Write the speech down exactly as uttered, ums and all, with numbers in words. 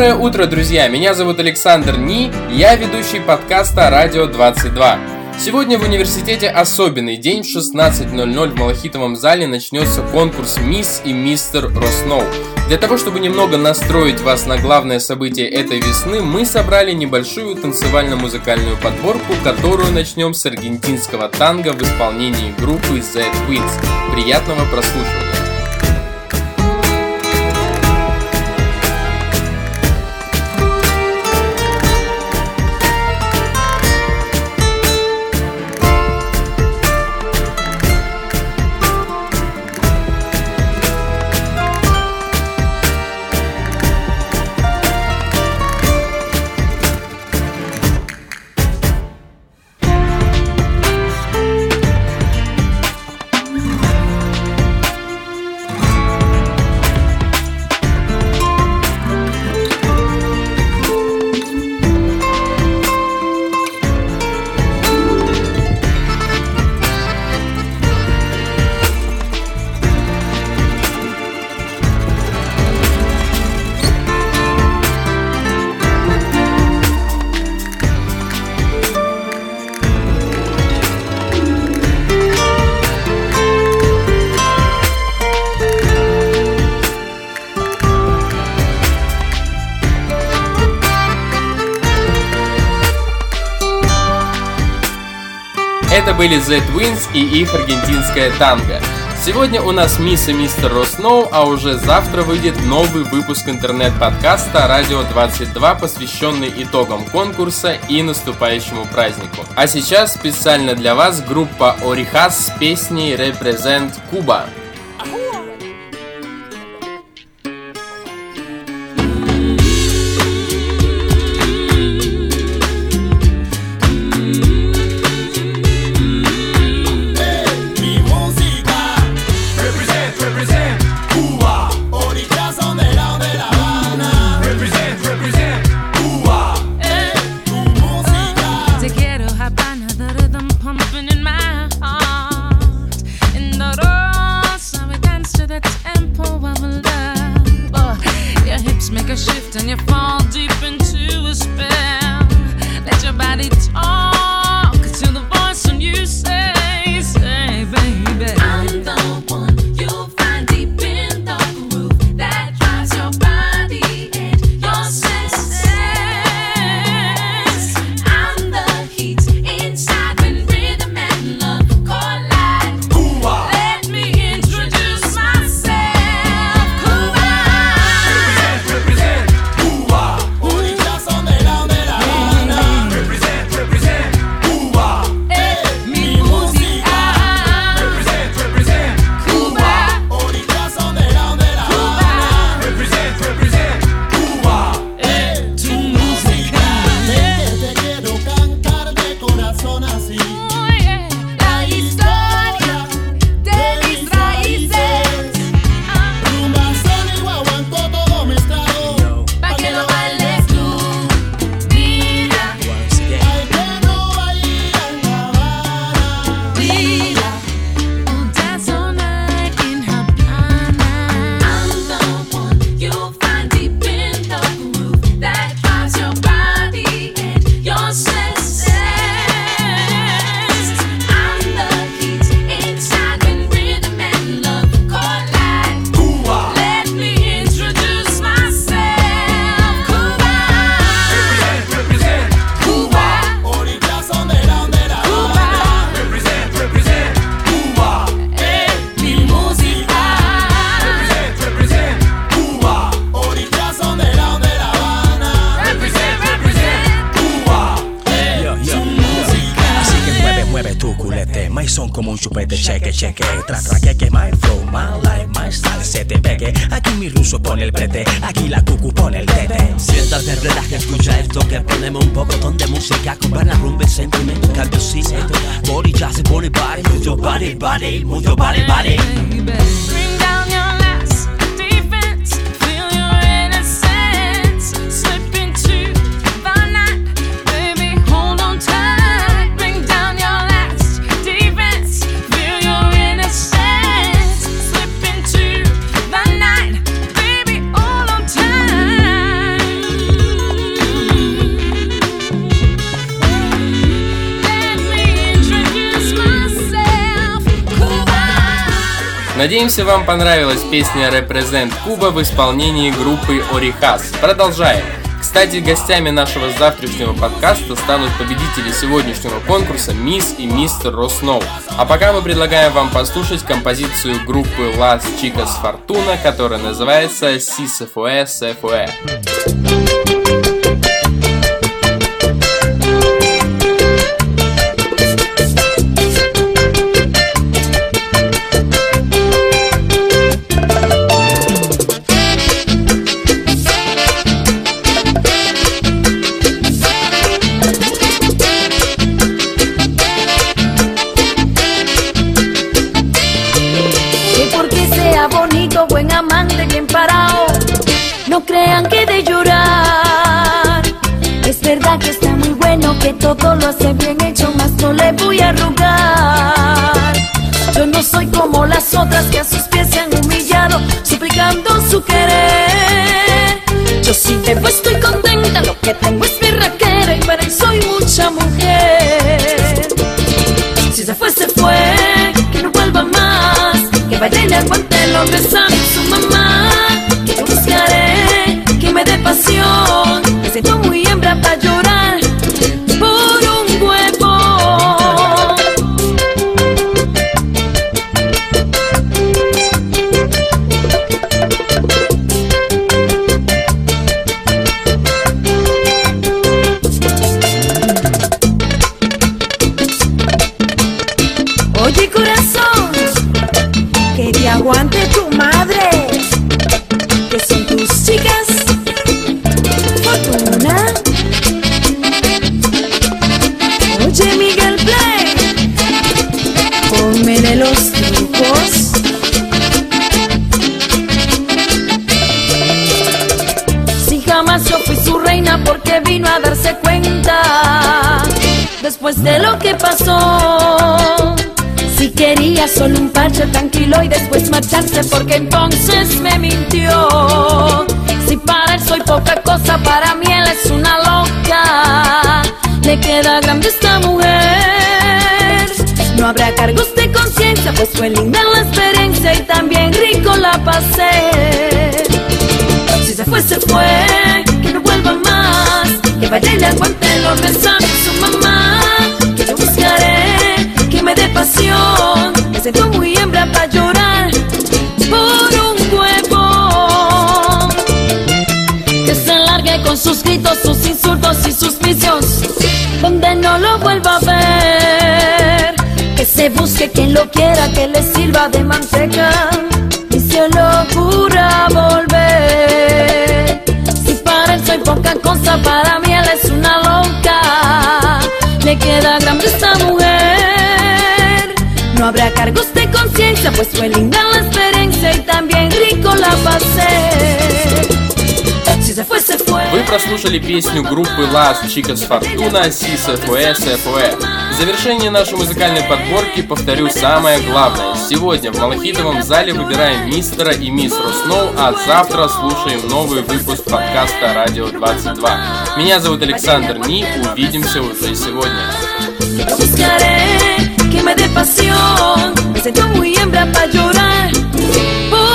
Доброе утро, друзья! Меня зовут Александр Ни, я ведущий подкаста Радио двадцать два. Сегодня в университете особенный день. В шестнадцать ноль ноль в Малахитовом зале начнется конкурс «Мисс и Мистер Росноу». Для того, чтобы немного настроить вас на главное событие этой весны, мы собрали небольшую танцевально-музыкальную подборку, которую начнем с аргентинского танго в исполнении группы The Twins. Приятного прослушивания! Это были The Twins и их аргентинская танго. Сегодня у нас «Мисс и Мистер Росноу», а уже завтра выйдет новый выпуск интернет-подкаста «Радио двадцать два», посвященный итогам конкурса и наступающему празднику. А сейчас специально для вас группа Орихас с песней «Represent Cuba». Como un chupete, cheque, cheque, tra, tra, que, que, my flow, my life, my style, se te pegue. Aquí mi ruso pone el prete, aquí la cucu pone el tete. Siéntate, relaja, escucha esto que ponemos un poco de música con buena rumba y sentimiento, cambio sí. Body jazz, body body, move your body, body, move your body, body. Bring down your last defense, feel your innocence, slip into the night, baby, hold on tight. Bring down your last defense, feel your innocence, slip into the night, baby, hold on tight. Надеемся, вам понравилась песня «Represent Cuba» в исполнении группы Орихас. Продолжаем. Кстати, гостями нашего завтрашнего подкаста станут победители сегодняшнего конкурса «Мисс» и «Мистер Росноу». А пока мы предлагаем вам послушать композицию группы Las Chicas Fortuna, которая называется «Si se fue, se fue». Buen amante bien parado, no crean que de llorar. Es verdad que está muy bueno, que todo lo hace bien hecho, mas no le voy a rogar. Yo no soy como las otras que a sus pies se han humillado, suplicando su querer. Yo sí debo, estoy contenta, lo que tengo es mi raquera y para él soy mucha mujer. Si se fue, se fue, que no vuelva más, que vaya y le aguante los besados su mamá. Que yo buscaré que me dé pasión, me siento muy hembra para llorar por un huevo. Oye corazón, que te aguante tu madre, que son tus chicas Fortuna. Oye Miguel Play, pónmele los trucos. Si jamás yo fui su reina, porque vino a darse cuenta después de lo que pasó. Si quería solo un parche tranquilo y después marcharse, porque entonces me mintió. Si para él soy poca cosa, para mí él es una loca. Le queda grande esta mujer. No habrá cargos de conciencia, pues fue linda la experiencia y también rico la pasé. Si se fue, se fue, que no vuelva más, que vaya y le aguante los besados su mamá. Que yo buscaré que me dé pasión, me siento muy hembra para llorar por un huevo. Que se largue con sus gritos, sus insultos y sus vicios, donde no lo vuelva a ver. Que se busque quien lo quiera, que le sirva de manteca y se le ocurra volver. Si para él soy poca cosa, para mí él es una loca. Le queda grande esta mujer. No habrá cargos de conciencia, pues fue linda la experiencia y también rico la pasé. Si se fue, se fue. Вы прослушали песню группы Las Chicas Fortuna «Si se fue, se fue». В завершении нашей музыкальной подборки повторю самое главное. Сегодня в Малахитовом зале выбираем мистера и мисс Росноу, а завтра слушаем новый выпуск подкаста «Радио двадцать два». Меня зовут Александр Ни, увидимся уже сегодня. Buscaré que me dé pasión, me siento muy hembra para llorar.